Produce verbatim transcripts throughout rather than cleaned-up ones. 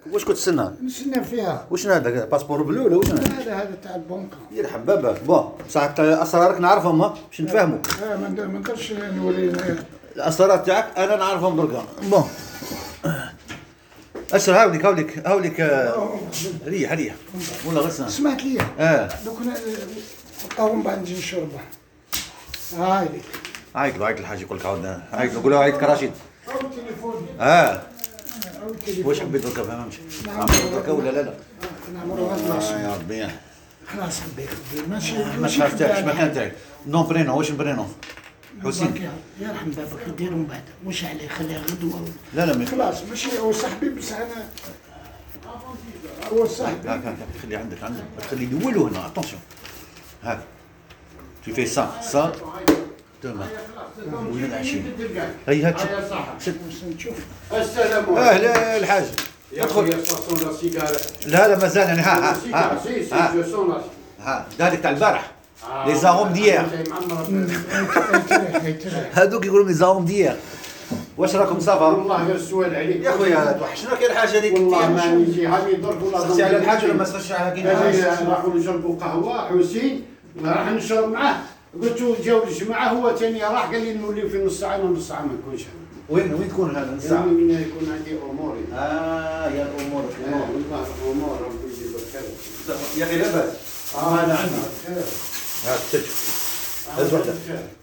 واش كنت تستنى؟ نستنى فيها. واش هذا باسبور بلو ولا واش هذا؟ هذا هذا تاع البنكة. يرحب باباك. بون بصح اسرارك نعرفهم باش نتفاهموا. اه ما نقدرش نوري الاسرار تاعك انا نعرفهم دركا. بون اشرب هاوليك هاوليك هاوليك ريح ريح ولا غسان. سمعت لي اه دوك نلقاو من بعد نجي نشربها. هاي ليك. عيط له عيط الحاج يقول لك عاود عيط له قول له عيط رشيد. او التليفون. اه او التليفون. واش حبيت دركا فهمتش؟ نعمرو دركا ولا لا لا؟ نعمرو غير يا ربي خلاص ربي يخليك ماشي ما تعرف تاعك شما كان تاعك نون برينو واش برينو؟ حسين يرحم بابك يديروا من بعد واش عليه خليه غدوه. لا لا خلاص ماشي هو صاحبي بصح انا هو صاحبي. هاك هاك خلي عندك عندك تخلي الاول هنا اتونسيون هاك تو في سا سا تمام وين العشيه هي هاك نشوف. السلام عليكم. اهلا الحاج ادخل. لا لا مازال يعني ها ها ها ها هذيك تاع البارح لي زاروم ديير هذوك يقولوا لي زاروم ديير. واش راكم صافا؟ والله غير السؤال عليك يا خويا توحشنا كاين الحاجه هذيك. والله ما نجي هاني درك ولا سرتي على الحاج ولا ما سرتش على كاين راحوا نشربوا قهوه حسين راح نشرب معاه قلت له جاو الجماعه هو ثاني راح قال لي نوليو في نص ساعه ونص ساعه ما نكونش. وين وين تكون هذا الساعه؟ من يكون عندي امور. اه يا الامور والله امور ربي يجيب الخير. يا اخي لاباس. اه انا عندي هاك تشوف هز وحده.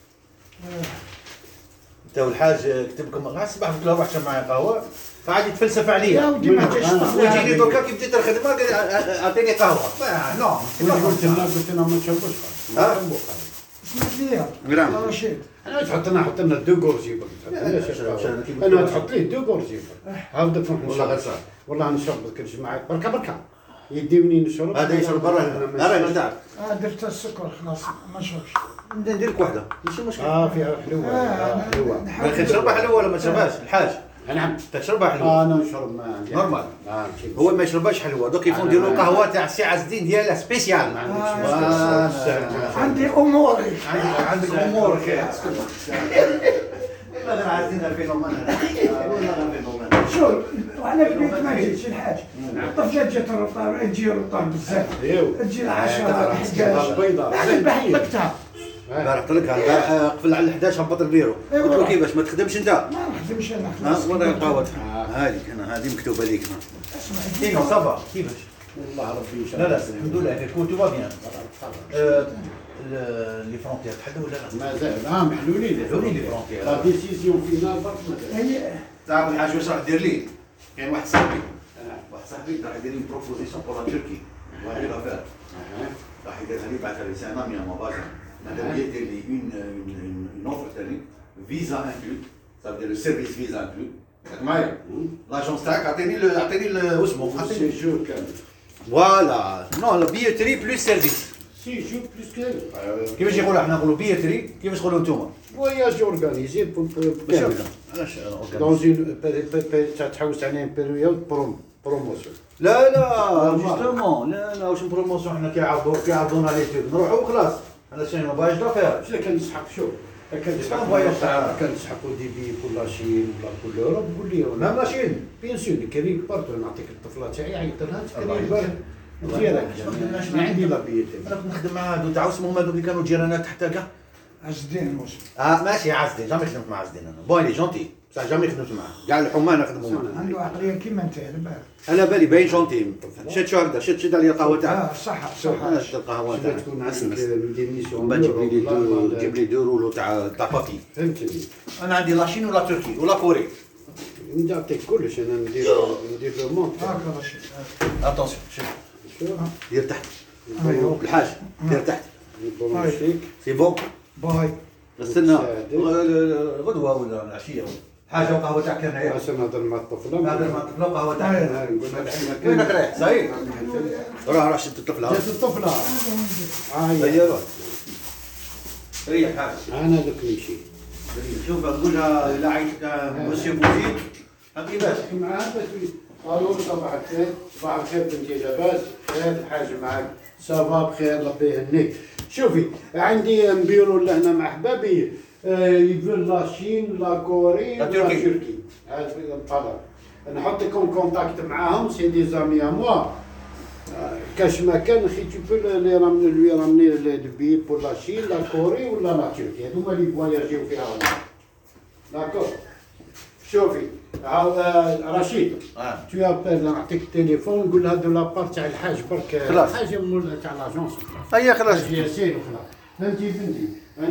انت والحاج كتب لكم غير الصباح قلت له روح شرب معايا قهوه فعاد يتفلسف يا عليا. ودي ما جاش ويجيني دوكا كي بديت الخدمه قال اعطيني قهوه. نو قلت لنا قلت لنا ما نشربوش ها؟ سمعت لي نعم. رشيد. انا تحط لنا حط لنا دو غورجي انا تحط ليه دو غورجي هاود تروح والله غير صح. والله نشرب كل جماعه بركه بركه يديوني نشرب. هذا يشرب برا هنا راهي تاعك. اه درت السكر خلاص ما نشربش. ندير لك وحده ماشي مشكل. اه فيها حلوه. اه حلوه. ما كي تشربها حلوه ولا ما تشربهاش الحاج؟ نعم تشربها حلوه. انا نشرب ما عندي. نورمال. اه هو ما يشربهاش حلوه دوك يفون يديروا القهوه تاع السي عز الدين ديالها سبيسيال. عندي اموري. عندك امورك. والله غير عايزين الفينومان والله غير الفينومان. شوف وانا في البيت ما جيتش الحاج. الطفله جات الرطار تجي الرطار بزاف. تجي العشرة الحداش. البيضاء. بحبكتها. البارح قلت لك البارح قفل على الحداش هبط البيرو. قلت له كيفاش ما تخدمش انت؟ ما نخدمش انا ها خلاص. وين القهوه؟ هذيك انا هذه مكتوبه ليك. ايوا صافا كيفاش؟ والله ربي يشرب. لا لا الحمد لله كيف تو با بيان. لي فرونتيير تحلوا ولا لا؟ مازال اه محلولين. محلولين لي فرونتيير. لا ديسيزيون فينال برك مازال. هي تعرف الحاج واش راح دير لي؟ كاين واحد صاحبي واحد صاحبي راح يدير لي بروبوزيسيون بور لا تركي. واحد لافير راح يديرها لي بعثها لي سي ان امي مون فازان. ماذا بيا يدير لي اون اون اوفر ثاني فيزا انكلود ça veut dire le service visa inclus. راك معايا؟ لاجونس تاعك عطيني عطيني واسمه عطيني سي جور كامل. فوالا نو لا بيتري بلوس سيرفيس. سي جور بلوس كامل. كيفاش يقولوا احنا نقولوا بيتري كيفاش تقولوا انتوما؟ فواياج اورغانيزي بور ماشي هكذا علاش دون اون تحوس عليه بيريود بروم بروموسيون. لا لا جوستومون لا لا واش بروموسيون حنا كيعرضوا كيعرضونا لي تيب نروحوا وخلاص انا شنو ما باغيش دافير. شنو كان نسحق شوف كان شكون نسحق فواياج تاع كان نسحقوا دي بي بور لاشين ولا بور لوروب قول لي مام لاشين بيان سور كريم بارتو نعطيك الطفله تاعي عيط لها الله تكريم يبارك. ديالك ما عندي لا بيتي. انا كنت نخدم مع هادو تاع اسمهم هادوك اللي كانوا جيرانات حتى كاع. عز الدين موسى. اه ماشي عز الدين جامي خدمت مع عز الدين انا بون لي جونتي بصح جامي خدمت معاه كاع الحماه انا خدموا معاه. عنده عقليه كيما انت على بالك. انا بالي باين جونتي شد شو هكذا شد شد عليا القهوه تاعك. اه صح صح. انا شد القهوه شنو تاعك تكون عندك ندير ميسيون من بعد جيب لي دو جيب لي دو رولو تاع تاع بابي. فهمتني. انا عندي لاشين ولا تركي ولا كوري. نعطيك كلش انا ندير ندير لو مونت. هاكا رشيد. اتونسيون شوف شوف دير تحت ايوا الحاج دير تحت نبروشيك سي بون. باي. استنى غدوه ولا العشيه حاجه وقهوه تاعك هنايا. عشان نهضر مع الطفله. هذا ما طفله قهوه تاعك. نقول لها وينك رايح؟ صحيح راه راه شد الطفله. جات الطفله. هيا روح ريح حاج. انا دوك نمشي. شوف نقول لها لا عيطك مسيو بوزيد كيفاش؟ معاه قالوا لي صباح الخير صباح الخير بنتي لاباس خير الحاج معاك صافا بخير ربي يهنيك. شوفي عندي نبيرو لهنا مع حبابي يقول لاشين لا كوري لا لا تركي. تركي هذا الطلب نحطك اون كونتاكت معاهم سي دي زامي ا موا كاش ما كان اخي تو لي رامني لوي رامني البي بور لا شين لا كوري ولا لا تركيا هذوما اللي فواياجيو فيها هنا داكور شوفي عاود رشيد تو ابل نعطيك التليفون نقول هذا لابار تاع الحاج برك خلاص. حاجه من تاع لاجونس هيا خلاص حاج ياسين وخلاص فهمتي بنتي